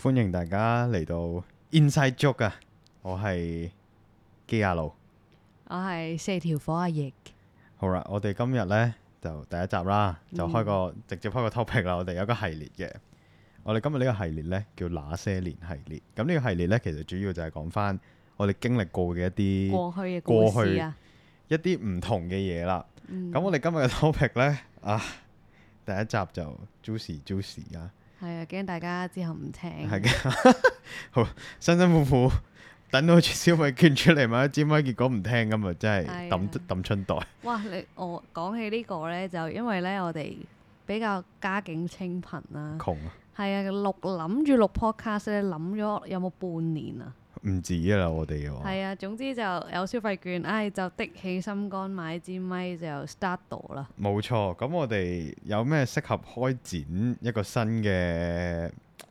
歡迎大家嚟到 Inside Joke 啊！我係基亞路。 我係四條火阿翼。 好啦，我哋今日呢就第一集啦，就直接開個 topic 啦。我哋有個系列嘅，我哋今日呢個系列呢叫那些年系列。咁呢個系列呢，其實主要就係講翻我哋經歷過嘅一啲過去嘅故事啊， 一啲唔同嘅嘢啦。咁、 嗯、 我哋今日嘅 topic 呢，第一集就 juicy 啊！ 係啊，驚大家之後唔聽。 係嘅，好辛辛苦苦等到消費券出嚟買一支咪，結果唔聽咁啊，真係抌春袋。 哇！我講起呢個呢，就因為呢，我哋比較家境清貧啦， 窮啊！ 係啊，諗住錄 podcast 咧，諗咗有冇半年啊？ 唔止啊啦，我哋嘅話係啊，總之就有消費券，就的起心肝買支咪就 start 到啦。 冇錯。咁我哋有咩適合開展一個新嘅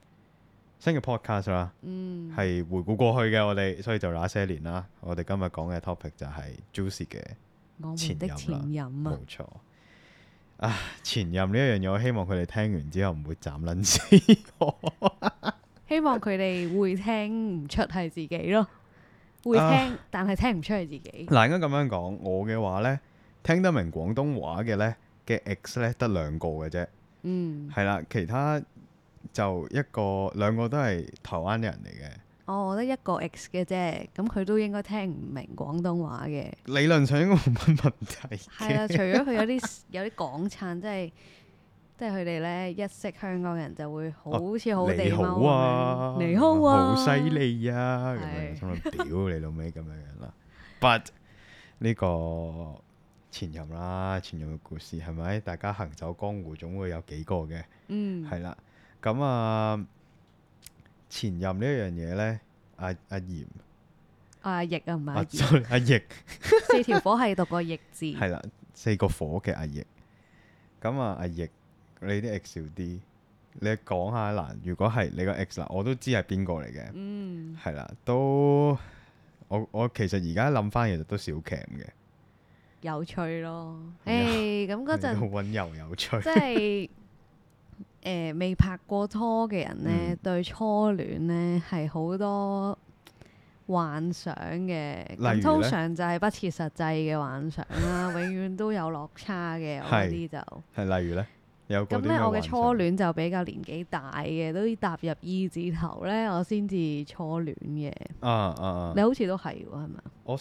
podcast 啦？係回顧過去嘅我哋，所以就那些年啦。我哋今日講嘅 topic 就係 juicy 嘅前任啦。冇錯。前任呢一樣嘢，我希望佢哋聽完之後唔會斬撚死我。 希望佢哋會聽唔出係自己咯，會聽，但係聽唔出係自己。 嗱，應該咁樣講，我嘅話呢，聽得明廣東話嘅呢嘅 ex 呢得兩個嘅啫。係啦，其他就兩個都係台灣人嚟嘅。 我得一個 ex 嘅啫，咁佢都應該聽唔明廣東話嘅。 理論上應該冇乜問題。 係啦，除咗佢有啲港燦，即係佢哋呢，一識香港人就會好似好地踎咁樣，你好啊， 好犀利啊，咁樣心諗屌你老味咁樣樣啦。But 呢個前任嘅故事係咪？大家行走江湖總會有幾個嘅，係啦。咁前任呢一樣嘢呢，阿嚴， 阿翼啊，唔係阿翼， 四條火係讀個翼字， 係啦，四個火嘅阿翼。咁阿翼。你啲 ex 少啲，你講下嗱。如果係你個 ex 嗱，我都知係邊個嚟嘅，係啦，都我其實而家諗翻，其實都少鉗嘅， 有趣咯。咁嗰陣好溫柔有趣， 即係未拍過拖嘅人呢，對初戀呢係好多幻想嘅，咁通常就係不切實際嘅幻想啦，永遠都有落差嘅。我啲就係例如呢。咁咧，我嘅初戀就比較年紀大嘅，都踏入二字頭咧，我先至初戀嘅。你好似都係喎，係咪？ 我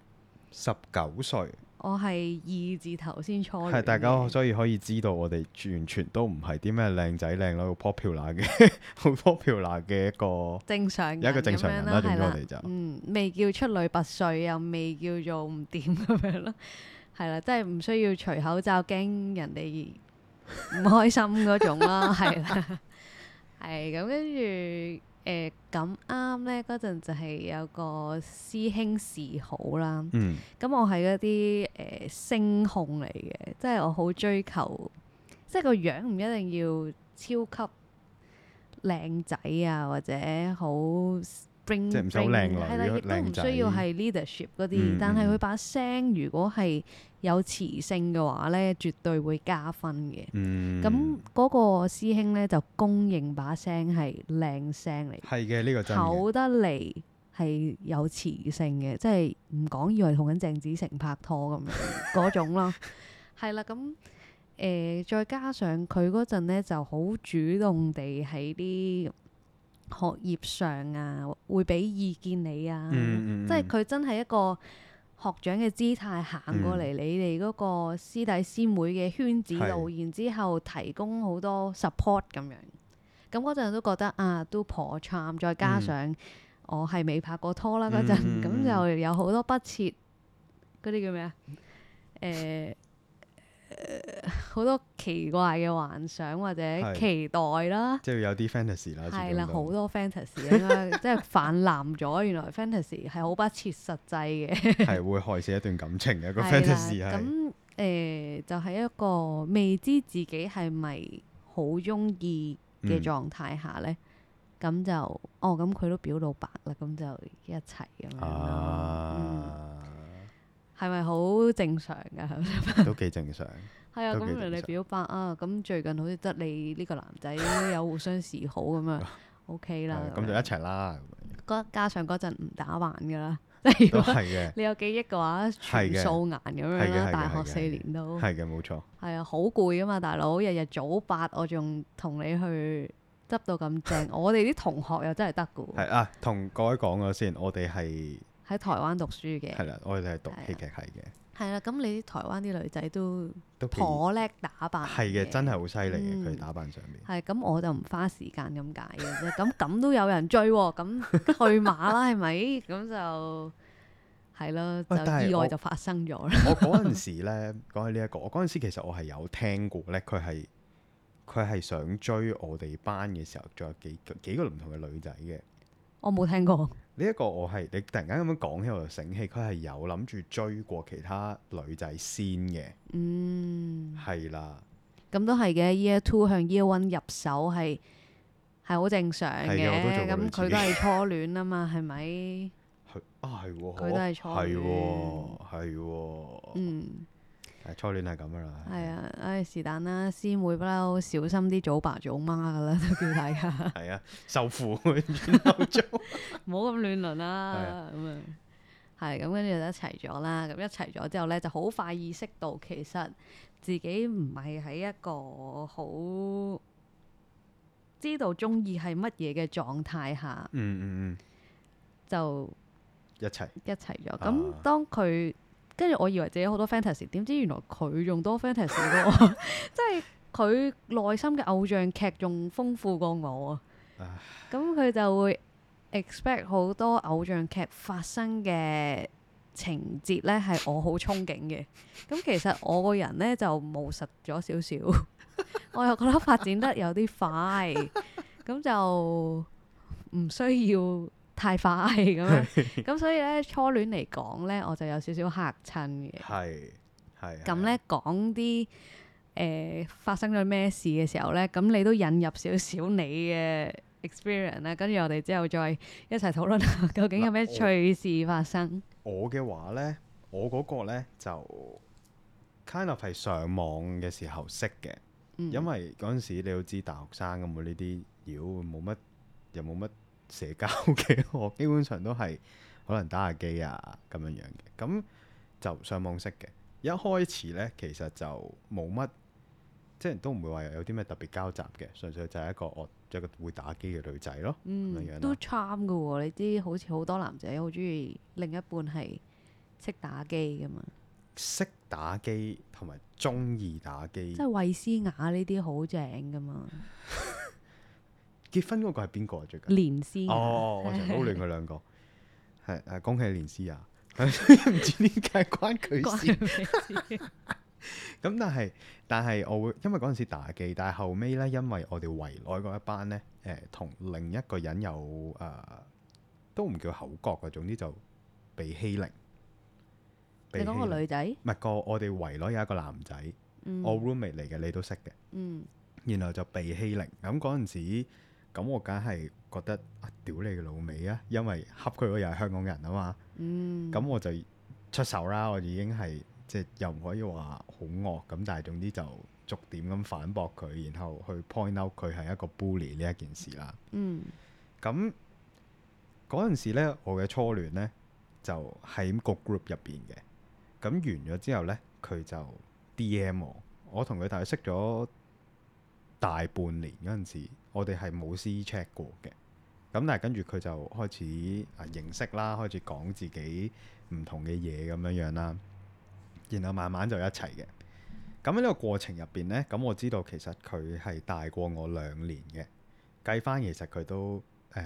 19歲。我係二字頭先初戀。 係大家所以可以知道，我哋完全都唔係啲咩靚仔靚女好 popular 嘅，好 popular 嘅一個正常人， 有一個正常人啦。總之我哋就未叫出類拔萃，又未叫做唔掂咁樣咯。係啦，即係唔需要除口罩驚人哋唔開心嗰種啦，係啦，係咁跟住咁啱呢嗰陣就係有個師兄示好啦。咁我係嗰啲聲控嚟嘅，即係我好追求，即係個樣唔一定要超級靚仔啊，或者好 bling bling， 即係唔使好靚女， 係啦，亦都唔需要係 leadership 嗰啲，但係佢把聲如果係有磁性嘅話呢，絕對會加分嘅。咁嗰個師兄呢，就公認把聲係靚聲嚟， 係嘅，呢個真嘅， 厚得嚟係有磁性嘅，即係唔講以為同緊鄭子誠拍拖咁樣嗰種咯。係啦，咁再加上佢嗰陣呢，就好主動地喺啲學業上啊，會俾意見你啊，即係佢真係一個學長嘅姿態行過嚟你哋嗰個師弟師妹嘅圈子度，然之後提供好多 support 咁樣。咁嗰陣都覺得都頗 charm，再加上我係未拍過拖啦嗰陣，咁就有好多不切嗰啲叫咩啊？好多奇怪嘅幻想或者期待啦， 即係有啲 fantasy 啦， 係啦，好多 fantasy 應該即係泛濫咗。原來 fantasy 係好不切實際嘅， 係會害死一段感情嘅個 fantasy 係。 咁就係一個未知自己係咪好中意嘅狀態下呢，咁就咁佢都表到白啦，咁就一齊咁樣咯。係咪好正常㗎？ 都幾正常。 係啊，咁人哋表白咁最近好似得你呢個男仔有互相示好咁樣。 OK 啦。 咁就一齊啦。 加上嗰陣唔打扮㗎啦，即係如果都係嘅， 你有記憶嘅話，全素顏咁樣啦。大學4年都係嘅，冇錯。 係啊，好攰啊嘛，大佬，日日早8，我仲同你去執到咁正。我哋啲同學又真係得㗎喎。 係啊，同各位講咗先，我哋係喺台灣讀書嘅。 係啦，我哋係讀戲劇系嘅。 係啦，咁你啲台灣啲女仔都都頗叻打扮。 係嘅，真係好犀利嘅，佢打扮上面。 係咁，我就唔花時間咁解嘅啫。咁都有人追喎，咁去馬啦，係咪？咁就係咯，就意外就發生咗啦。 我嗰陣時咧，講起呢一個，我嗰陣時其實我係有聽過咧，佢係想追我哋班嘅時候，仲有幾個唔同嘅女仔嘅。 我冇聽過。 呢一個你突然間咁樣講起，我就醒起，佢係有諗住追過其他女仔先嘅。係啦。 咁都係嘅，Year 2向 Year 1入手係好正常嘅。咁佢都係初戀啊嘛，係咪？ 係喎。 佢都係初戀。 係喎。初戀係咁噶啦。 係啊，是但啦，師妹不嬲小心啲早爸早媽噶啦，都叫大家。 係啊，受父遠後做， 唔好咁亂倫啦。咁啊，係咁跟住就一齊咗啦。咁一齊咗之後咧，就好快意識到其實自己唔係喺一個好知道中意係乜嘢嘅狀態下，就一齊咗。咁當佢跟住，我以為自己好多 fantasy， 點知原來佢仲多 fantasy 過我，即係佢內心嘅偶像劇仲豐富過我啊！咁佢就會 expect 好多偶像劇發生嘅情節呢係我好憧憬嘅。咁其實我個人呢就務實咗少少，我又覺得發展得有啲快，咁就唔需要太快咁樣，咁所以咧初戀嚟講咧，我就有少少嚇親嘅。係。咁咧講啲發生咗咩事嘅時候咧，咁你都引入少少你嘅 experience 啦，跟住我哋之後再一齊討論下究竟有咩趣事發生。 我嘅話咧，我嗰個咧就 kind of 係上網嘅時候識嘅，因為嗰陣時你都知大學生咁，呢啲妖又冇乜社交嘅，我基本上都係可能打下機啊咁樣嘅，咁就上網識嘅。一開始呢，其實就冇乜，即係都唔會話有啲咩特別交集嘅，純粹就係一個會打機嘅女仔咯。咁樣都 charm 㗎喎，你知好似好多男仔好中意另一半係識打機㗎嘛？ 識打機同埋中意打機， 即係衛詩雅呢啲好正㗎嘛？ 結婚嗰個係邊個啊？最近連詩雅。 我成日撈亂佢兩個。係恭喜連詩雅，唔知點解關佢事。咁但係我會因為嗰陣時打機，但係後尾咧，因為我哋圍內嗰一班咧，同另一個人有都唔叫口角嘅，總之就被欺凌。 你講個女仔？ 唔係我哋圍內有一個男仔，我 roommate 嚟嘅，你都識嘅。然後就被欺凌，咁嗰陣時。咁我梗係覺得屌你嘅老味啊！因為恰佢嗰又係香港人啊嘛，咁我就出手啦。我已經係即係又唔可以話好惡咁，但係總之就逐點咁反駁佢，然後去 point out 佢係一個 bully 呢一件事啦。咁嗰陣時咧，我嘅初戀咧就喺個 group 入邊嘅。咁完咗之後咧，佢就 DM 我同佢大概識咗大半年嗰陣時。我哋係冇私 check 過嘅，咁但係跟住佢就開始認識啦，開始講自己唔同嘅嘢咁樣啦，然後慢慢就一齊嘅。咁喺呢個過程入邊呢，咁我知道其實佢係大過我2年嘅，計翻其實佢都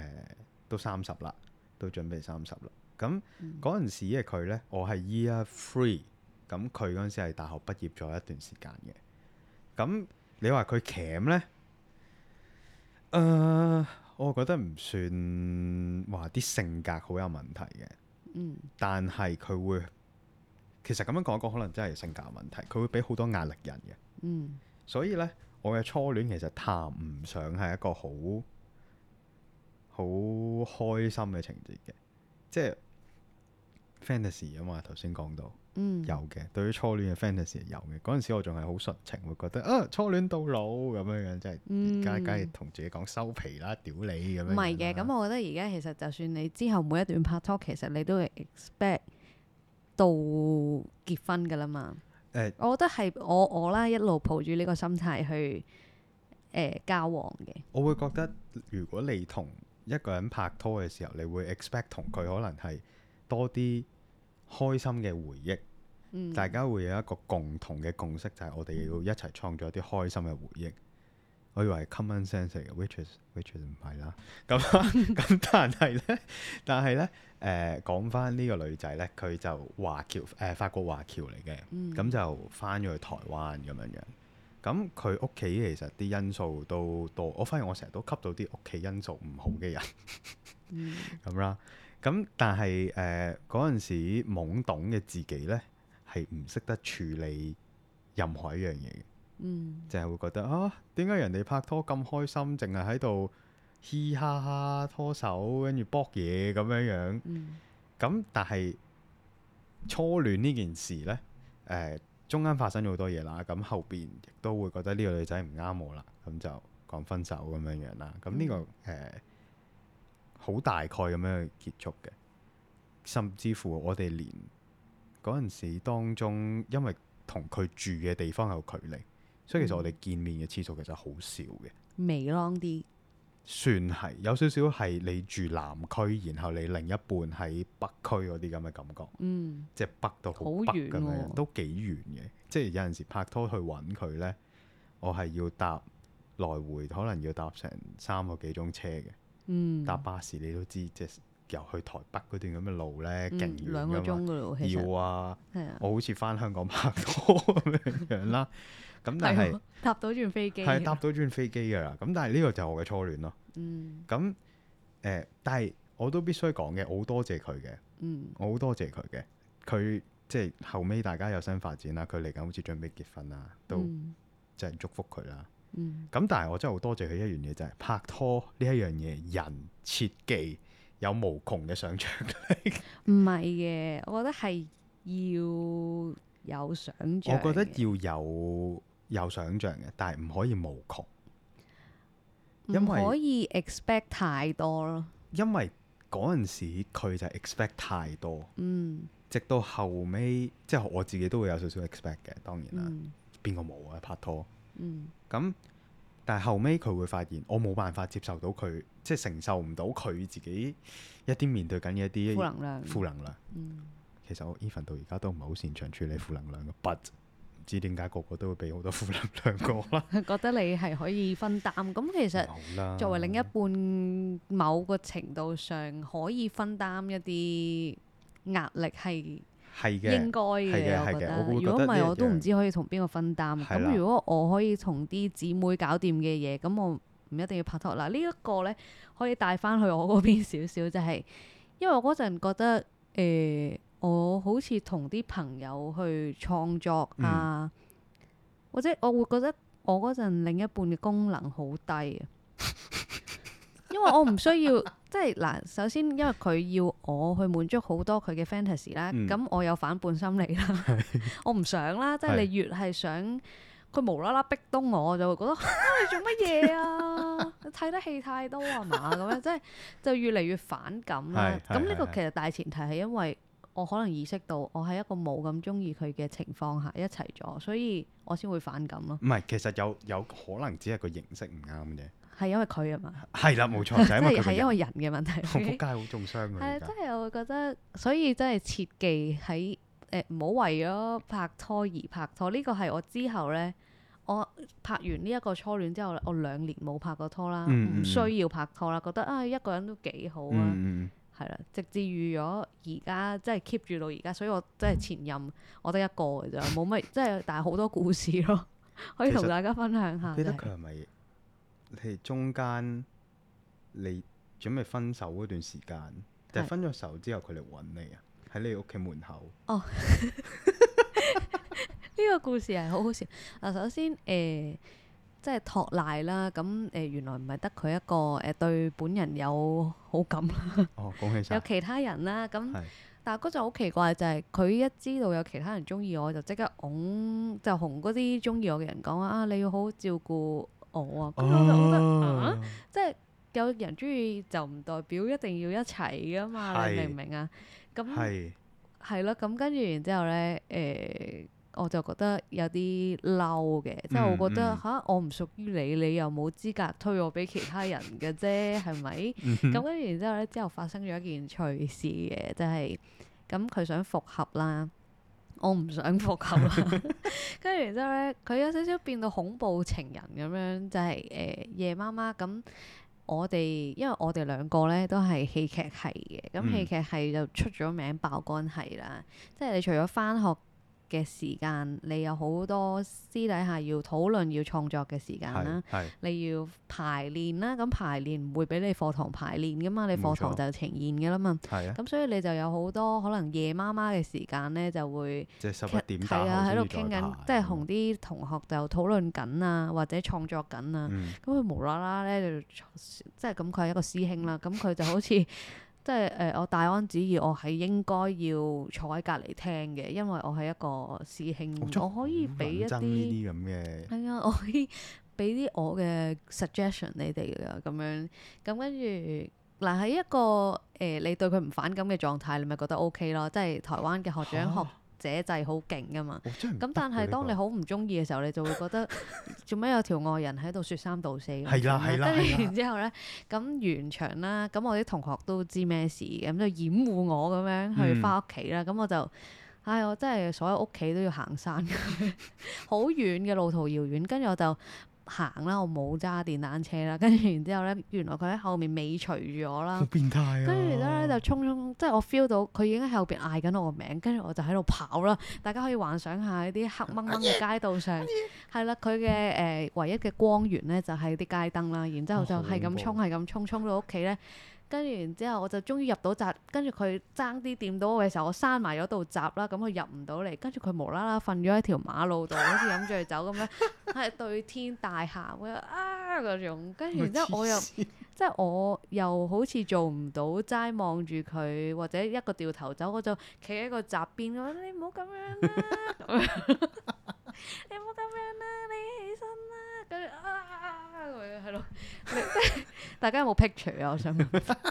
30啦，都準備30啦。咁嗰陣時嘅佢呢，我係 Year 3，咁佢嗰陣時係大學畢業咗一段時間嘅。咁你話佢鉗呢？我覺得唔算話啲性格好有問題嘅，但係佢會其實咁樣講可能真係性格有問題，佢會俾好多壓力人嘅，所以呢，我嘅初戀其實談唔上係一個好開心嘅情節嘅，即係 fantasy 啊嘛，頭先講到。 嗯， 有嘅，對於初戀嘅 fantasy 係有嘅。嗰陣時我仲係好純情，會覺得啊初戀到老咁樣樣，即係而家梗係同自己講收皮啦，屌你咁樣樣啦。 唔係嘅，咁我覺得而家其實就算你之後每一段拍拖，其實你都會 expect 到結婚噶啦嘛。我覺得係我啦，一路抱住呢個心態去交往嘅。 我會覺得如果你同一個人拍拖嘅時候，你會 expect 同佢可能係多啲開心嘅回憶，大家會有一個共同嘅共識，就係我哋要一齊創造一啲開心嘅回憶。我以為係 common sense 嚟嘅，which is 唔係啦。咁但係咧，講翻呢個女仔咧，佢就法國華僑嚟嘅，咁就翻咗去台灣咁樣樣。咁佢屋企其實啲因素都多，我發現我成日都吸到啲屋企因素唔好嘅人咁啦。咁但係嗰陣時懵懂嘅自己呢，係唔識得處理任何一樣嘢嘅，淨係會覺得啊，點解人哋拍拖咁開心，淨係喺度嘻哈哈拖手，跟住搏嘢咁樣樣。咁但係初戀呢件事呢，中間發生咗好多嘢啦，咁後邊亦都會覺得呢個女仔唔啱我啦，咁就講分手咁樣樣啦。咁呢個好大概咁樣去結束嘅，甚至乎我哋連嗰陣時當中，因為同佢住嘅地方有距離，所以其實我哋見面嘅次數其實好少嘅， 微啷啲， 算係有少少係你住南區，然後你另一半喺北區嗰啲咁嘅感覺，即係北到好北咁樣，都幾遠嘅。即係有陣時拍拖去揾佢呢，我係要搭來回，可能要搭成3個幾鐘車嘅。搭巴士你都知，即係由去台北嗰段咁嘅路呢，勁遠㗎嘛，2個鐘㗎咯，其實要啊，我好似翻香港拍拖咁樣啦。咁但係搭到轉飛機， 係搭到轉飛機㗎啦。咁但係呢個就係我嘅初戀咯。咁但係我都必須講嘅，我好多謝佢嘅。我好多謝佢嘅。佢即係後尾大家有新發展啦，佢嚟緊好似準備結婚啦，都即係祝福佢啦。咁但係我真係好多謝佢一樣嘢，就係拍拖呢一樣嘢，人切忌有無窮嘅想像力。 唔係嘅，我覺得係要有想像。 我覺得要有想像嘅，但係唔可以無窮。 唔可以 expect 太多咯。 因為嗰陣時佢就 expect 太多。直到後尾，即係我自己都會有少少 expect 嘅，當然啦。邊個冇啊？拍拖。咁，但係後尾佢會發現，我冇辦法接受到佢，即係承受唔到佢自己一啲面對緊嘅一啲負能量。其實我 even 到而家都唔係好擅長處理負能量嘅，but 唔知點解個個都會俾好多負能量過啦。 覺得你係可以分擔，咁其實作為另一半，某個程度上可以分擔一啲壓力係應該嘅，我覺得。如果唔係，我都唔知可以同邊個分擔。咁如果我可以同啲姊妹搞掂嘅嘢，咁我唔一定要拍拖。嗱，呢一個呢，可以帶翻去我嗰邊少少，就係因為我嗰陣覺得我好似同啲朋友去創作啊，或者我會覺得我嗰陣另一半嘅功能好低啊。因為我唔需要，即係嗱，首先因為佢要我去滿足好多佢嘅 fantasy 啦，咁我有反叛心理啦，我唔想啦，即係你越係想佢無啦啦逼東我就會覺得你做乜嘢啊？你睇得戲太多啊嘛，咁樣即係就越嚟越反感啦。咁呢個其實大前提係因為我可能意識到我喺一個冇咁中意佢嘅情況下一齊咗，所以我先會反感咯。 唔係，其實有可能只係個形式唔啱啫。 係因為佢啊嘛， 係啦，冇錯，就係因為佢。 係因為人嘅問題。 我仆街好中傷㗎。 係，真係我會覺得，所以真係切忌喺唔好為咗拍拖而拍拖。呢個係我之後呢，我拍完呢一個初戀之後，我2年冇拍過拖啦，唔需要拍拖啦，覺得一個人都幾好啊，係啦，直至遇咗而家，即係 keep 住到而家，所以我真係前任我得一個㗎咋，冇乜，即係但係好多故事咯，可以同大家分享下。 記得佢係咪？你中間你準備分手嗰段時間，定係分咗手之後佢嚟揾你啊？喺你屋企門口。哦，呢個故事係好好笑。嗱，首先即係托賴啦。咁原來唔係得佢一個對本人有好感啦， 哦，恭喜晒！ 有其他人啦。咁係但係嗰陣好奇怪就係佢一知道有其他人中意我，就即刻就同嗰啲中意我嘅人講啊，你要好好照顧我啊。咁我就覺得啊，即係有人中意就唔代表一定要一齊噶嘛，你明唔明啊？咁係咯，咁跟住然之後咧，我就覺得有啲嬲嘅，即係我覺得吓，我唔屬於你，你又冇資格推我俾其他人嘅啫，係咪？咁跟住然之後咧，之後發生咗一件趣事嘅，就係咁佢想復合啦，我唔想復合啦。跟住然之後咧，佢有少少變到恐怖情人咁樣，就係夜媽媽咁。因為我哋兩個咧都係戲劇系嘅，咁戲劇系就出咗名爆肝系啦。即係你除咗返學嘅時間，你有好多私底下要討論、要創作嘅時間啦。你要排練啦，咁排練唔會俾你課堂排練噶嘛，你課堂就呈現噶啦嘛。咁所以你就有好多可能夜媽媽嘅時間咧，就會即係11點打後喺度傾緊，即係同啲同學就討論緊啊，或者創作緊啊。咁佢無啦啦咧就即係咁，佢係一個師兄啦。咁佢就好似即係我大安旨意，我係應該要坐喺隔離聽嘅，因為我係一個師兄，我可以俾一啲係啊，我可以俾啲我嘅 suggestion 你哋㗎咁樣。咁跟住嗱喺一個你對佢唔反感嘅狀態，你咪覺得 OK 咯。即係台灣嘅學長學者制好勁噶嘛。咁但係當你好唔中意嘅時候，你就會覺得做咩有條外人喺度説三道四咁。係啦。跟住然之後咧，咁完場啦，咁我啲同學都知咩事嘅，咁就掩護我咁樣去翻屋企啦。咁我就我真係所有屋企都要行山，好遠嘅路途遙遠。跟住我就行啦，我冇揸電單車啦。跟住然之後咧，原來佢喺後面尾隨住我啦。好變態啊！跟住咧就衝，即係我 feel 到佢已經喺後邊嗌緊我個名，跟住我就喺度跑啦。大家可以幻想下呢啲黑掹掹嘅街道上，係啦，佢嘅唯一嘅光源咧就係啲街燈啦。然之後就係咁衝，係咁衝，衝到屋企咧。跟住然之後，我就終於入到閘。跟住佢爭啲掂到我嘅時候，我閂埋咗道閘啦。咁佢入唔到嚟。跟住佢無啦啦瞓咗喺條馬路度，好似飲醉酒咁樣，係對天大喊嗰種。跟住然之後，我又即係我又好似做唔到齋望住佢，或者一個掉頭走，我就企喺個閘邊。我話你唔好咁樣啦，你唔好咁樣啦，你起身啦。跟住咁樣係咯。大家有冇 picture 啊？我想問。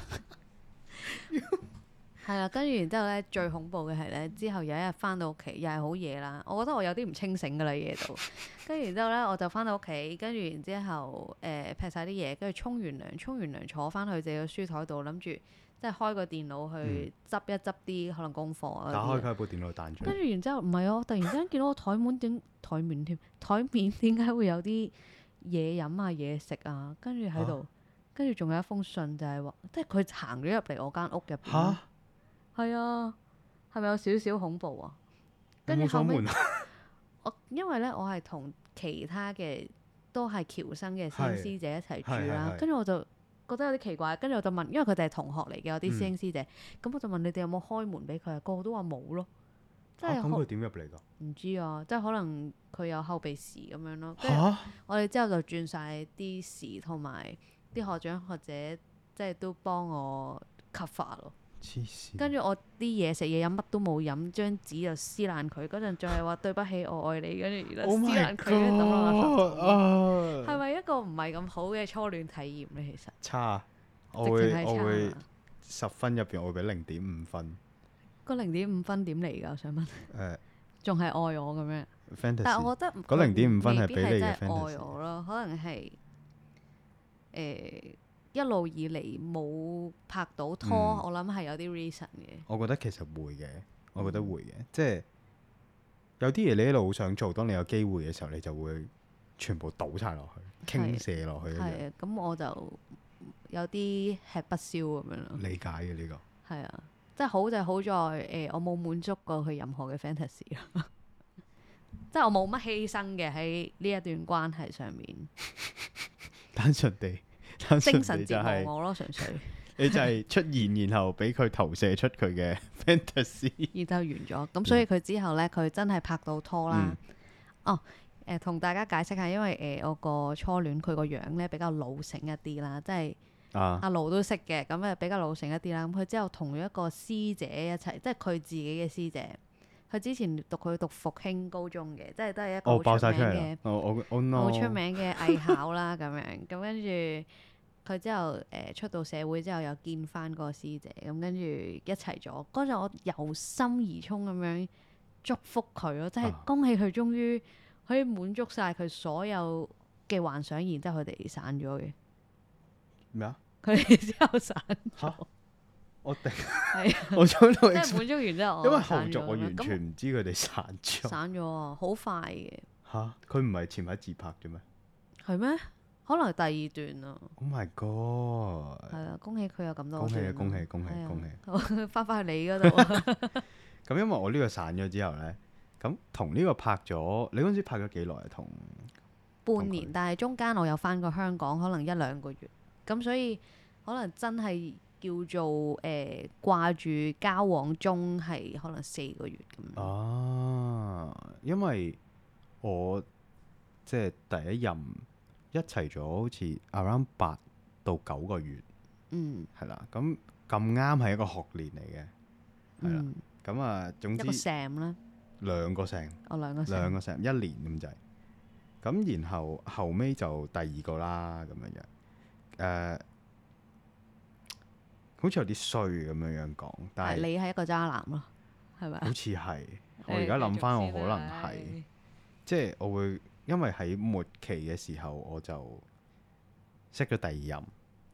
係啊，跟住然之後咧，最恐怖嘅係咧，之後有一日翻到屋企，又係好夜啦。我覺得我有啲唔清醒㗎啦，夜到。跟住然之後咧，我就翻到屋企，跟住然之後劈晒啲嘢，跟住沖完涼坐翻去自己個書台度，諗住即係開個電腦去執一執啲可能功課啊。打開佢部電腦彈出。跟住然之後唔係我突然之間見到個台面點解會有啲嘢飲啊嘢食啊？跟住喺度。跟住仲有一封信，就係話，即係佢行咗入嚟我間屋入邊。嚇！係啊，係咪有少少恐怖啊？跟住後尾，因為咧，我係同其他嘅都係僑生嘅師兄師姐一齊住啦。跟住我就覺得有啲奇怪，跟住我就問，因為佢哋係同學嚟嘅，我啲師兄師姐。咁我就問你哋有冇開門俾佢啊？個個都話冇咯。即係咁佢點入嚟㗎？唔知啊，即係可能佢有後備匙咁樣咯。跟住我哋之後就轉晒啲匙同埋。啲學長學者即係都幫我 cover 咯，跟住我啲嘢食嘢飲乜都冇飲，張紙就撕爛佢。嗰陣仲係話對不起，我愛你，跟住而家撕爛佢，跟住抌落垃圾桶。係咪一個唔係咁好嘅初戀體驗咧？其實差，我會10分入邊我會俾0.5分。個0.5分點嚟㗎？我想問。仲係愛我咁樣？但係我覺得嗰0.5分係俾你嘅 fantasy。愛我咯，可能係。一路以嚟冇拍到拖，我諗係有啲 reason 嘅。我覺得其實會嘅，我覺得會嘅，即係有啲嘢你一路好想做，當你有機會嘅時候，你就會全部倒晒落去，傾瀉落去。係啊，咁我就有啲吃不消咁樣咯。理解嘅呢個。係啊，即係好就好在我冇滿足過佢任何嘅 fantasy 咯，即係我冇乜犧牲嘅喺呢一段關係上面。單純地精神折磨我咯，純粹你就係出現，然後俾佢投射出佢嘅 fantasy，然後完咗。咁所以佢之後咧，佢真係拍到拖啦。 同大家解釋下，因為我個初戀佢個樣咧比較老成一啲啦，即係阿盧都識嘅，咁比較老成一啲啦。咁佢之後同咗一個師姐一齊，即係佢自己嘅師姐。佢之前佢讀復興高中嘅，即係都係一個好出名嘅，好出名嘅藝考啦咁樣。咁跟住佢之後出到社會之後又見翻嗰個師姐，咁跟住一齊咗。嗰陣我由心而衷咁樣祝福佢咯，即係恭喜佢終於可以滿足晒佢所有嘅幻想，然之後佢哋散咗嘅。 咩啊？ 佢哋之後散咗。 我定係我想到即係滿足完之後， 因為後續我完全唔知佢哋散咗。 散咗啊，好快嘅。 嚇！佢唔係前排自拍啫咩？ 係咩？可能係第二段啊。 Oh my god！ 係啊，恭喜佢有咁多。 恭喜恭喜恭喜恭喜！ 翻返去你嗰度。 咁因為我呢個散咗之後咧，咁同呢個拍咗，你嗰陣時拍咗幾耐啊？同半年，但係中間我有翻過香港，可能1-2個月。咁所以可能真係叫做掛住交往中係可能4個月咁。 因為我即係第一任一齊咗好似 around 8到9個月，係啦。咁咁啱係一個學年嚟嘅，係啦。咁啊，總之一個 sem 啦 ，2個 sem， 兩個 sem 1年咁滯。咁然後後尾就第2個啦，咁樣樣。好似有啲衰咁樣樣講，但係你係一個渣男咯，係咪？ 好似係，我而家諗翻，我可能係，即係我會因為喺末期嘅時候，我就識咗第2任。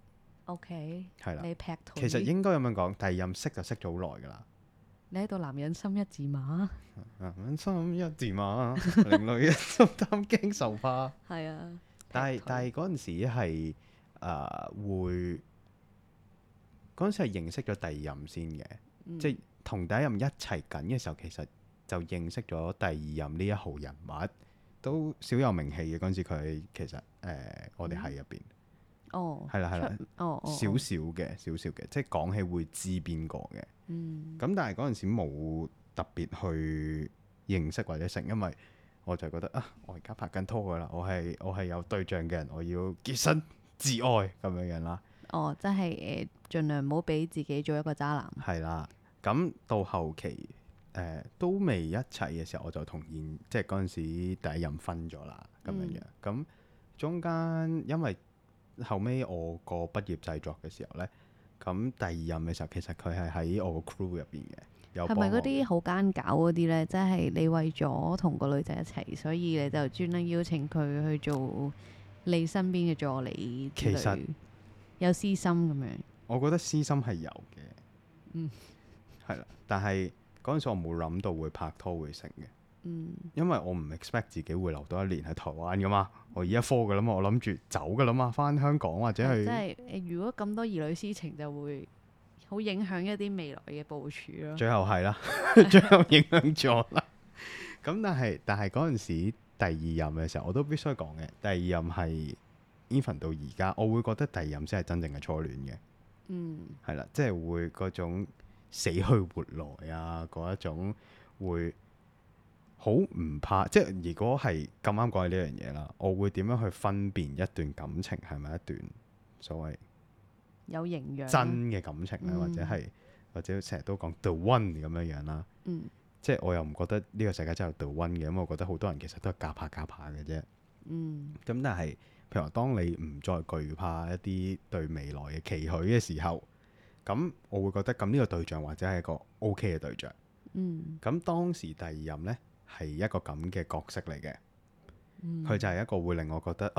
OK， 係啦， 你劈腿。 其實應該咁樣講，第2任識就識咗好耐噶啦。 你喺度男人心一字馬， 男人心一字馬，令女人心擔驚受怕。 係啊， 但係嗰陣時係會。嗰陣時係認識咗第2任先嘅，即係同第1任一齊緊嘅時候，其實就認識咗第2任呢一號人物，都小有名氣嘅。嗰陣時佢其實我哋喺入邊，係啦係啦，少少嘅，即係講起會知邊個嘅。咁但係嗰陣時冇特別去認識或者成，因為我就覺得我而家拍緊拖噶啦，我係有對象嘅人，我要潔身自愛咁樣樣啦。 即係盡量唔好俾自己做一個渣男。 係啦，咁到後期都未一齊嘅時候，我就同即係嗰陣時第1任分咗啦，咁樣樣。咁中間因為後尾我個畢業製作嘅時候呢，咁第2任嘅時候，其實佢係喺我個 crew 入邊嘅。係咪嗰啲好奸狡嗰啲呢？即係你為咗同個女仔一齊，所以你就專登邀請佢去做你身邊嘅助理之類。其實有私心咁樣， 我覺得私心係有嘅，係啦。但係嗰陣時我冇諗到會拍拖會成嘅，因為我唔 expect 自己會留多1年喺台灣噶嘛，我而家科噶啦嘛，我諗住走噶啦嘛，翻香港或者去。即係如果咁多兒女私情，就會好影響一啲未來嘅部署咯。 最後係啦，最後影響咗啦。咁但係嗰陣時第2任嘅時候，我都必須講嘅，第2任係。even 到而家，我會覺得第2任先係真正嘅初戀嘅，係啦，即係會嗰種死去活來啊，嗰一種會好唔怕。即係如果係咁啱講起呢樣嘢啦，我會點樣去分辨一段感情係咪一段所謂有營養真嘅感情咧，或者成日都講 the one 咁樣樣啦。即係我又唔覺得呢個世界真係有 the one 嘅，咁我覺得好多人其實都係夾下嘅啫。咁但係。譬如話，當你唔再懼怕一啲對未來嘅期許嘅時候，咁我會覺得咁呢個對象或者係一個 OK 嘅對象。咁當時第2任呢，係一個咁嘅角色嚟嘅，佢就係一個會令我覺得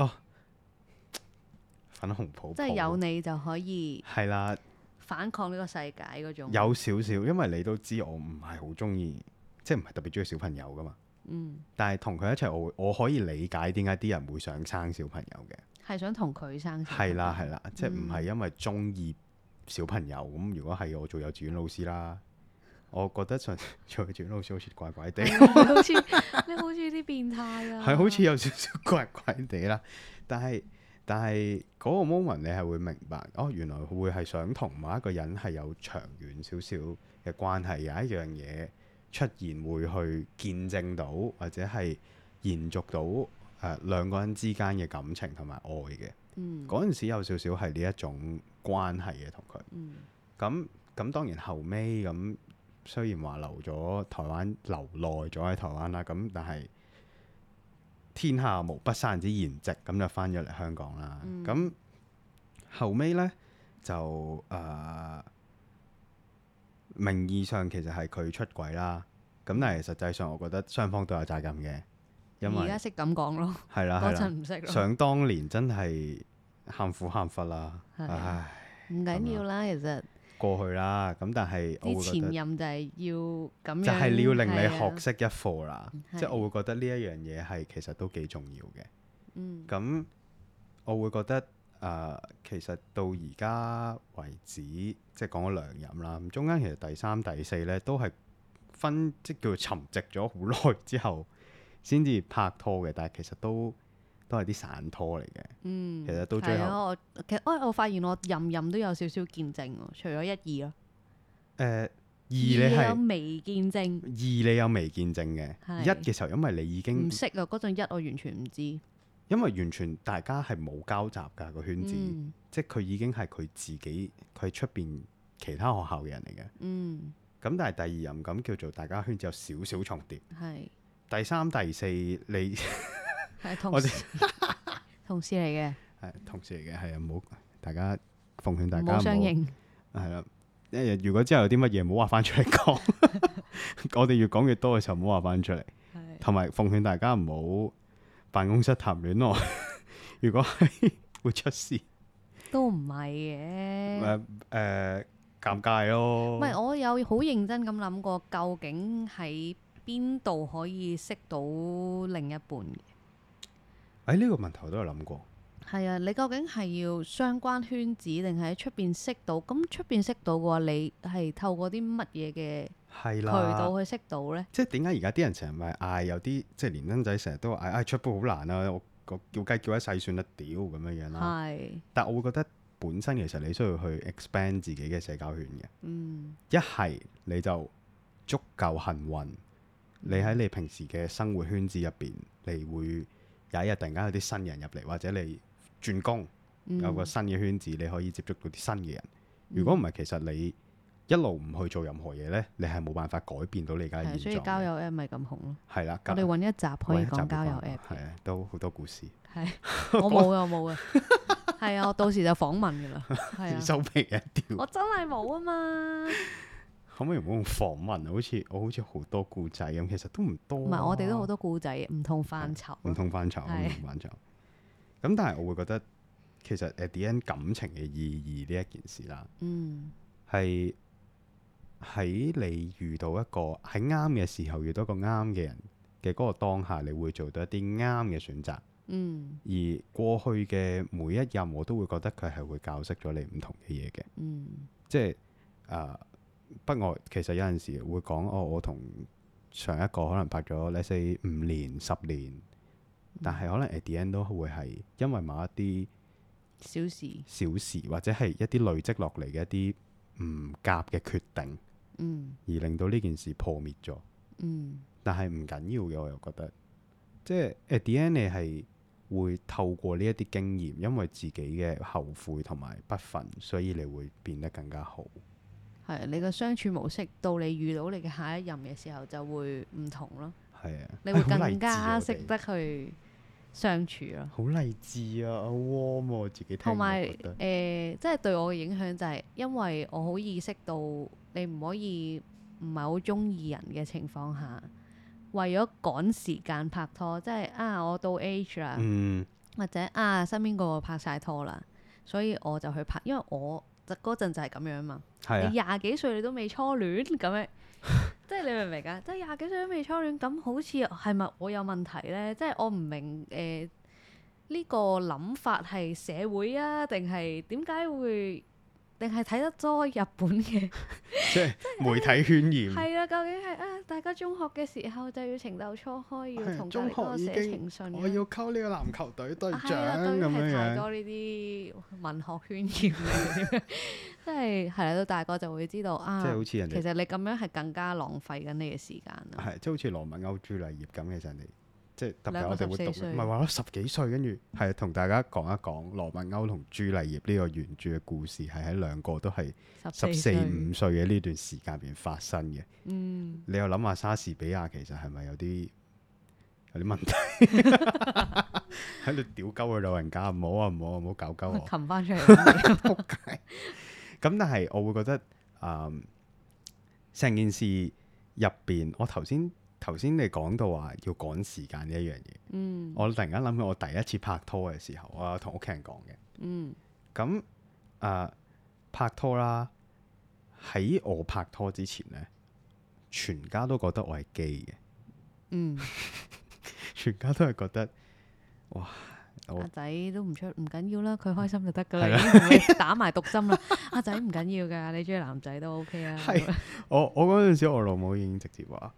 粉紅泡泡， 即係有你就可以係啦， 反抗呢個世界嗰種。 有少少，因為你都知我唔係好中意，即係唔係特別中意小朋友噶嘛。但係同佢一齊，我可以理解點解啲人會想生小朋友嘅，係想同佢生小朋友。 係啦，即係唔係因為中意小朋友咁。如果係我做幼稚園老師啦，我覺得做幼稚園老師好似怪怪地，你好似啲變態啊， 係好似有少少怪怪地啦。但係嗰個 moment 你係會明白，原來會係想同某一個人係有長遠少少嘅關係，有一樣嘢出現會去見證到，或者係延續到兩個人之間嘅感情同埋愛嘅。嗰陣時有少少係呢一種關係嘅同佢。咁當然後尾咁，雖然話留咗台灣，留耐咗喺台灣啦，咁但係天下無不散之筵席，咁就翻咗嚟香港啦。咁後尾呢，就名義上其實係佢出軌啦，咁但係實際上我覺得雙方都有責任嘅，因為而家識咁講咯， 係啦嗰陣唔識咯。 想當年真係喊苦喊忽啦， 係唉， 唔緊要啦，其實過去啦。咁但係我啲前會覺得任就係要咁樣， 就係要令你係啊學識一課啦，即係我會覺得呢一樣嘢係其實都幾重要嘅。咁我會覺得其實到而家為止，即係講咗兩任啦，咁中間其實第三、第四呢都係即叫做沉寂咗好耐之後先至拍拖嘅，但係其實都係啲散拖嚟嘅。其實到最後， 其實我發現我任都有少少見證喎，除咗一二咯。 二你你係有微見證， 你有微見證嘅， 係一嘅時候因為你已經唔識啊，嗰陣一我完全唔知。 因為完全大家係冇交集㗎個圈子，即係佢已經係佢自己，佢係出邊其他學校嘅人嚟嘅。咁但係第二任咁叫做大家圈子有少少重疊。 係第三、第四你係同事同事嚟嘅， 係同事嚟嘅，係啊，唔好大家奉勸大唔家好相認。 係啦。如果之後有啲乜嘢唔好話翻出嚟講，我哋越講越多嘅時候唔好話翻出嚟。同埋奉勸大家唔好辦公室談戀愛，如果係會出事。 都唔係嘅。 尷尬咯。 唔係，我有好認真咁諗過，究竟喺邊度可以識到另一半嘅？ 呢個問題我都有諗過。 係啊，你究竟係要相關圈子定係喺出邊識到？咁出邊識到嘅話，你係透過啲乜嘢嘅渠道去識到呢？ 即係點解而家啲人成日咪嗌有啲即係年輕仔成日都嗌出鋪好難啊！我叫雞叫一世算得屌咁樣樣啦。係。但我會覺得本身其實你需要去 expand 自己嘅社交圈嘅。一係你就足夠幸運，你喺你平時嘅生活圈子入邊，你會有一日突然間有啲新人入嚟，或者你轉工有個新嘅圈子，你可以接觸到啲新嘅人。如果唔係，其實你一路唔去做任何嘢呢，你係冇辦法改變到你而家嘅現狀。 所以交友 app 咪咁紅咯。 係啦， 我哋揾一集可以講交友 app。 係啊，都好多故事。 係，我冇啊，我冇啊。係啊，我到時就訪問㗎啦。係啊， 收皮一條。 我真係冇啊嘛。 可唔可以唔好用訪問啊？我好似好多故仔咁，其實都唔多。 唔係，我哋都好多故仔，唔同範疇。 唔同範疇，咁但係我會覺得，其實at the end感情嘅意義呢一件事啦，係喺你遇到一個喺啱嘅時候遇到一個啱嘅人嘅嗰個當下，你會做到一啲啱嘅選擇。而過去嘅每一任，我都會覺得佢係會教識咗你唔同嘅嘢嘅。即係不過其實有陣時會講，我同上一個可能拍咗let's say 5年、10年，但係可能 at the end 都會係因為某一啲小事或者係一啲累積落嚟嘅一啲唔夾嘅決定，而令到呢件事破滅咗。但係唔緊要嘅，我又覺得，即係 at the end 你係會透過呢一啲經驗，因為自己嘅後悔同埋不忿，所以你會變得更加好。 係你個相處模式到你遇到你嘅下一任嘅時候就會唔同咯。 係啊， 你會更加識得去相處咯。 好勵志啊！好 warm 喎，我自己聽。 同埋即係對我嘅影響就係因為我好意識到你唔可以唔係好中意人嘅情況下，為咗趕時間拍拖，即係我到 age 啦，或者身邊個個拍晒拖啦，所以我就去拍，因為我嗰陣就係咁樣嘛。你20幾歲你都未初戀咁樣，即係你明唔明啊？即係20幾歲都未初戀，咁好似係咪我有問題呢？即係我唔明呢個諗法係社會啊，定係點解會？定係睇得多日本嘅， 即係媒體渲染。 係啊，究竟係大家中學嘅時候就要情竇初開，要同隔離嗰個寫情信。 我要溝呢個籃球隊隊長咁樣樣。太多呢啲文學渲染，即係係啦，到大個就會知道即係好似人哋其實你咁樣係更加浪費緊你嘅時間啦。 係，即係好似羅密歐朱麗葉咁，其實人哋即係特別我哋會讀， 14歲唔係話咗10幾歲，跟住係同大家講一講羅密歐同朱麗葉呢個原著嘅故事，係喺兩個都係14、15歲嘅呢段時間入邊發生嘅。 嗯， 你又諗下莎士比亞其實係咪有啲問題？喺度屌鳩佢老人家，唔好啊唔好啊唔好搞鳩我， 擒翻出嚟。 仆街。咁但係我會覺得成件事入邊，我頭先你講到話要趕時間呢一樣嘢，我突然間諗起我第一次拍拖嘅時候，我有同屋企人講嘅。咁拍拖啦，喺我拍拖之前呢，全家都覺得我係基嘅。全家都係覺得，哇！ 阿仔都唔緊要啦，佢開心就得噶啦，已經同你打埋毒針啦。阿仔唔緊要噶，你中意男仔都 OK 啊。 係我嗰陣時，我老母已經直接話：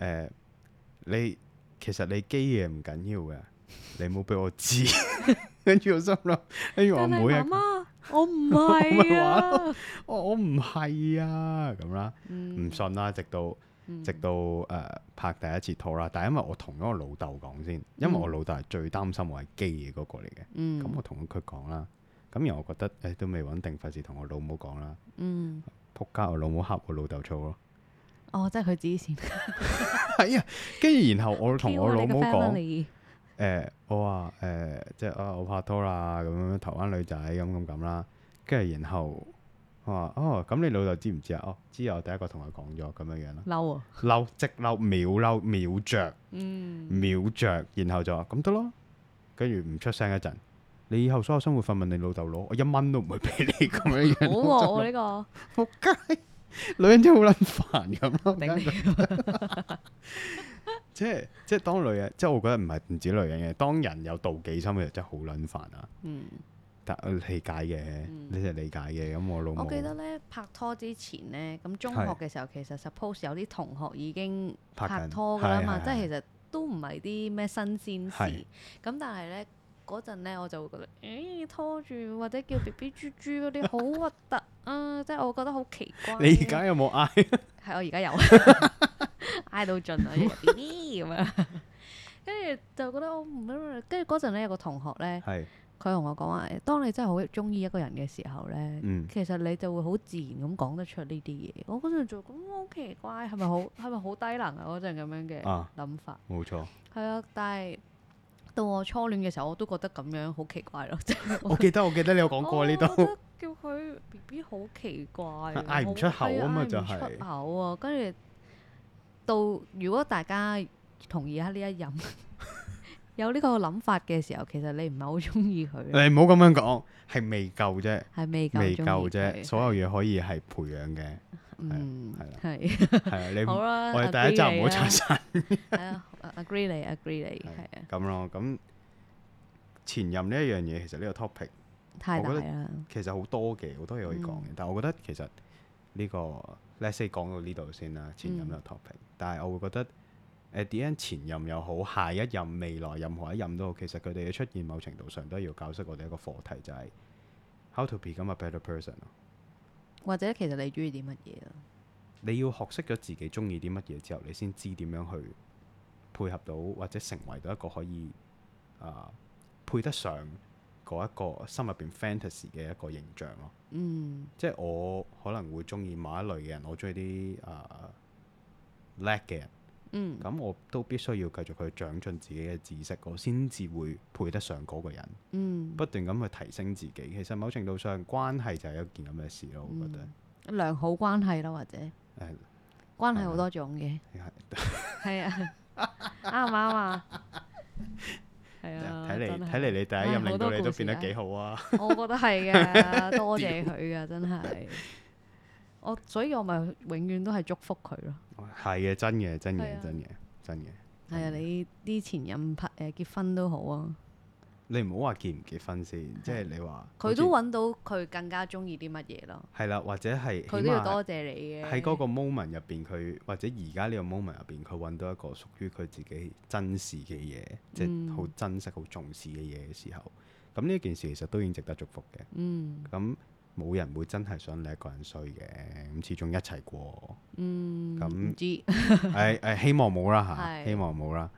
其實你基嘢唔緊要嘅，你冇俾我知。跟住我心諗，跟住我妹啊， 媽媽，我唔係啊， 我唔係啊，咁啦，唔信啦，直到拍第一次拖啦。但係因為我同咗我老豆講先，因為我老豆係最擔心我係基嘅嗰個嚟嘅。咁我同佢講啦。咁然後我覺得都未穩定，費事同我老母講啦。仆街，我老母恰我老豆粗咯。 哦，即係佢指線。 係啊，跟住然後我同我老母講，我話即係我拍拖啦，咁樣台灣女仔咁啦。跟住然後我話咁你老豆知唔知啊？知啊，我第一個同佢講咗咁樣啦。 嬲啊！ 嬲，即嬲，秒着，秒着，然後就話咁得咯。跟住唔出聲一陣，你以後所有生活費問你老豆攞，我1蚊都唔會俾你咁樣樣。 好喎，呢個仆街，女人真係好撚煩咁咯。即係當女人，即係我覺得唔止女人嘅，當人有妒忌心嘅時真係好撚煩啊。但理解嘅，你係理解嘅。咁我老母， 我記得咧拍拖之前咧，咁中學嘅時候其實 suppose 有啲同學已經拍拖㗎啦嘛，即係其實都唔係啲咩新鮮事。咁但係咧嗰陣咧，我就會覺得，拖住或者叫 BB 豬豬嗰啲好核突啊！即係我覺得好奇怪。 你而家有冇嗌？ 係我而家有嗌到盡啊！BB 咁樣，跟住就覺得我唔，跟住嗰陣咧有個同學咧。佢同我講話，當你真係好中意一個人嘅時候呢，其實你就會好自然咁講得出呢啲嘢。我嗰陣就咁好奇怪，係咪好低能啊？嗰陣咁樣嘅諗法。 冇錯。 係啊，但係到我初戀嘅時候，我都覺得咁樣好奇怪咯。 我記得你有講過呢度。 我覺得叫佢 BB 好奇怪， 嗌唔出口啊嘛，就係嗌唔出口啊。跟住到如果大家同意下呢一任。有呢個諗法嘅時候，其實你唔係好中意佢。 你唔好咁樣講，係未夠啫， 係未夠啫。所有嘢可以係培養嘅。 係啊，你好啦， 我哋第一集唔好拆散。 係啊，agree 你，係啊。咁咯，咁前任呢一樣嘢，其實呢個 topic 太大啦。 其實好多嘢可以講嘅，但係我覺得其實呢個 let's say 講到呢度先啦，前任呢個 topic。但係我會覺得。the end 前任又好，下一任、未來任何一任都好，其實佢哋嘅出現，某程度上都要教識我哋一個課題，就係 how to become a better person。 或者其實你中意啲乜嘢啊？ 你要學識咗自己中意啲乜嘢之後，你先知點樣去配合到，或者成為到一個可以配得上嗰一個心入邊 fantasy 嘅一個形象咯。即係我可能會中意某一類嘅人，我中意啲叻嘅人。咁我都必須要繼續去長進自己嘅知識，我先至會配得上嗰個人。不斷咁去提升自己，其實某程度上關係就係一件咁嘅事咯。我覺得良好關係啦，或者關係好多種嘅。係啊，啱唔啱啊？係啊， 睇嚟你第一任令到你都變得幾好啊！ 我覺得係嘅，多謝佢嘅，真係。所以我咪永遠都係祝福佢咯。 係嘅，真嘅。 係啊，你啲前任結婚都好啊。 你唔好話結唔結婚先，即係你話佢都揾到佢更加中意啲乜嘢咯。 係啦，或者係佢都要多謝你嘅。 喺嗰個 moment 入邊，佢或者而家呢個 moment 入邊，佢揾到一個屬於佢自己珍視嘅嘢，即係好珍惜、好重視嘅嘢嘅時候，咁呢件事其實都已經值得祝福嘅。咁冇人會真係想你一個人衰嘅，咁始終一齊過。咁唔知希望冇啦嚇，希望冇啦。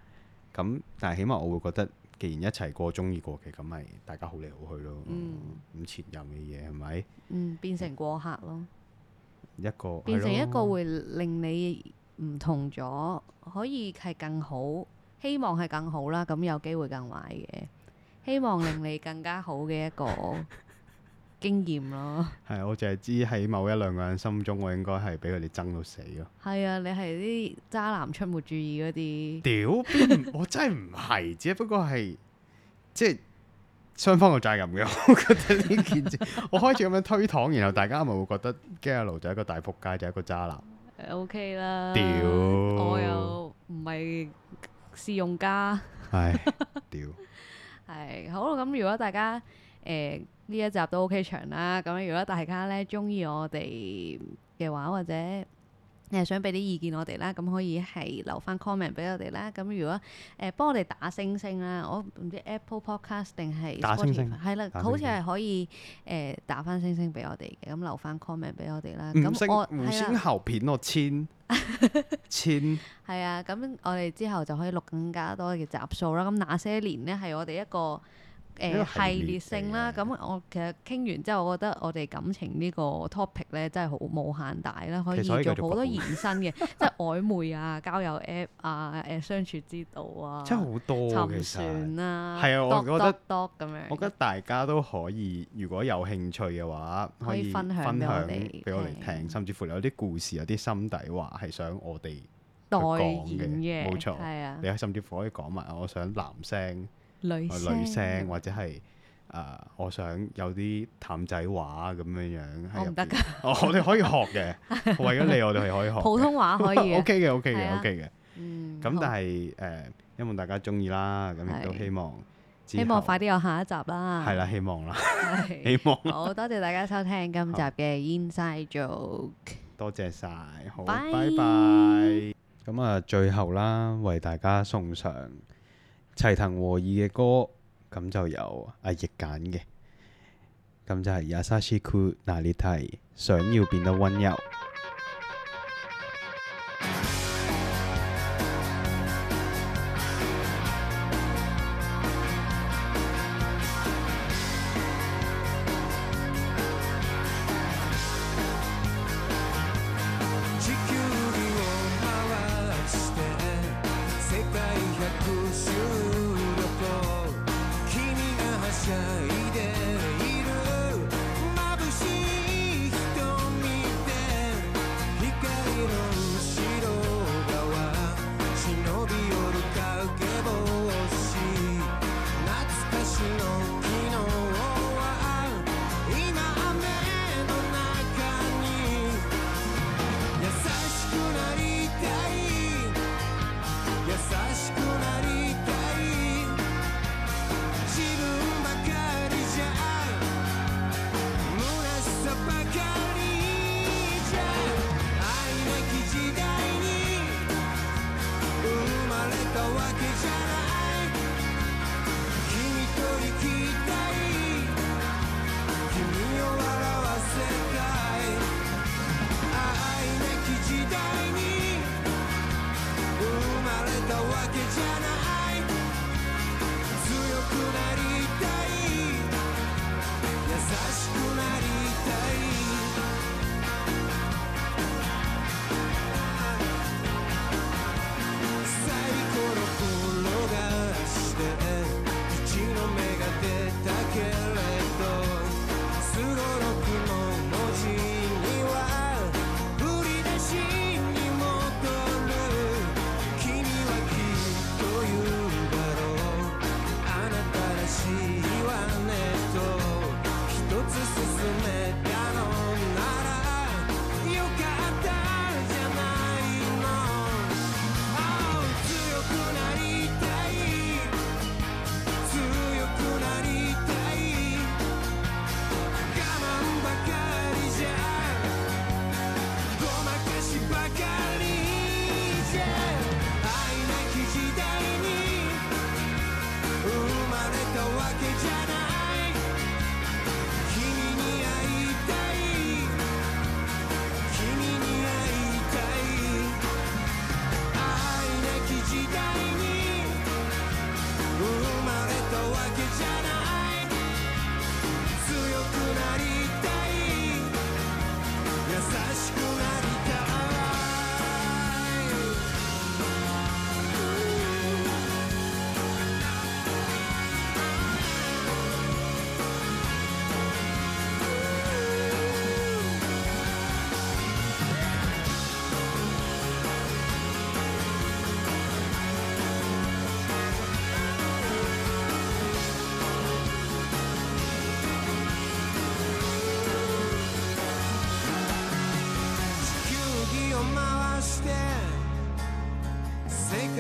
咁但係起碼我會覺得，既然一齊過中意過嘅，咁咪大家好嚟好去咯。咁前任嘅嘢係咪？ 變成過客咯。 一個變成一個會令你唔同咗，可以係更好，希望係更好啦。咁有機會更壞嘅，希望令你更加好嘅一個經驗咯。 係，我淨係知喺某一兩個人心中，我應該係俾佢哋憎到死咯。 係啊，你係啲渣男出沒注意嗰啲。 屌邊？我真係唔係，只不過係即係雙方嘅責任嘅。我覺得呢件事，我開始咁樣推搪，然後大家咪會覺得 Gallo 就係一個大仆街，就係一個渣男。 OK 啦。 屌！ 我又唔係試用家。 唉，屌！ 係好啦，咁如果大家呢一集都 OK 長啦，咁如果大家咧中意我哋嘅話，或者想俾啲意見我哋啦，咁可以係留翻 comment 俾我哋啦。咁如果幫我哋打星星啦，我唔知 Apple Podcast 定係打星星係啦，好似係可以打翻星星俾我哋嘅，咁留翻 comment 俾我哋啦。 五星我五星後片我簽係啊，咁我哋之後就可以錄更加多嘅集數啦。咁那些年呢，係我哋一個系列性啦。咁我其實傾完之後，我覺得我哋感情呢個 topic 咧真係好無限大啦，可以做好多延伸嘅，即係曖昧啊、交友 app 啊、相處之道啊， 真係好多沉船啊， 係啊，我覺得咁樣。 我覺得大家都可以，如果有興趣嘅話，可以分享俾我哋聽，甚至乎有啲故事、有啲心底話係想我哋代講言嘅， 冇錯。 係啊， 你甚至乎可以講埋，我想男聲、 女聲， 或者係我想有啲淡仔話咁樣樣。 我唔得㗎。 我哋可以學嘅，為咗你，我哋係可以學。 普通話可以。 OK 嘅，OK 嘅，OK 嘅。咁但係希望大家中意啦，咁亦都希望快啲有下一集啦。 係啦，希望啦，希望。 好多謝大家收聽今集嘅 Inside Joke， 多謝晒，好， 拜拜。咁啊，最後啦，為大家送上齊藤和義嘅歌，咁就由阿奕揀嘅，咁就係優しくなりたい，想要變得溫柔。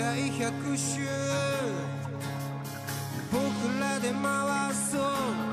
界100周僕らで回そう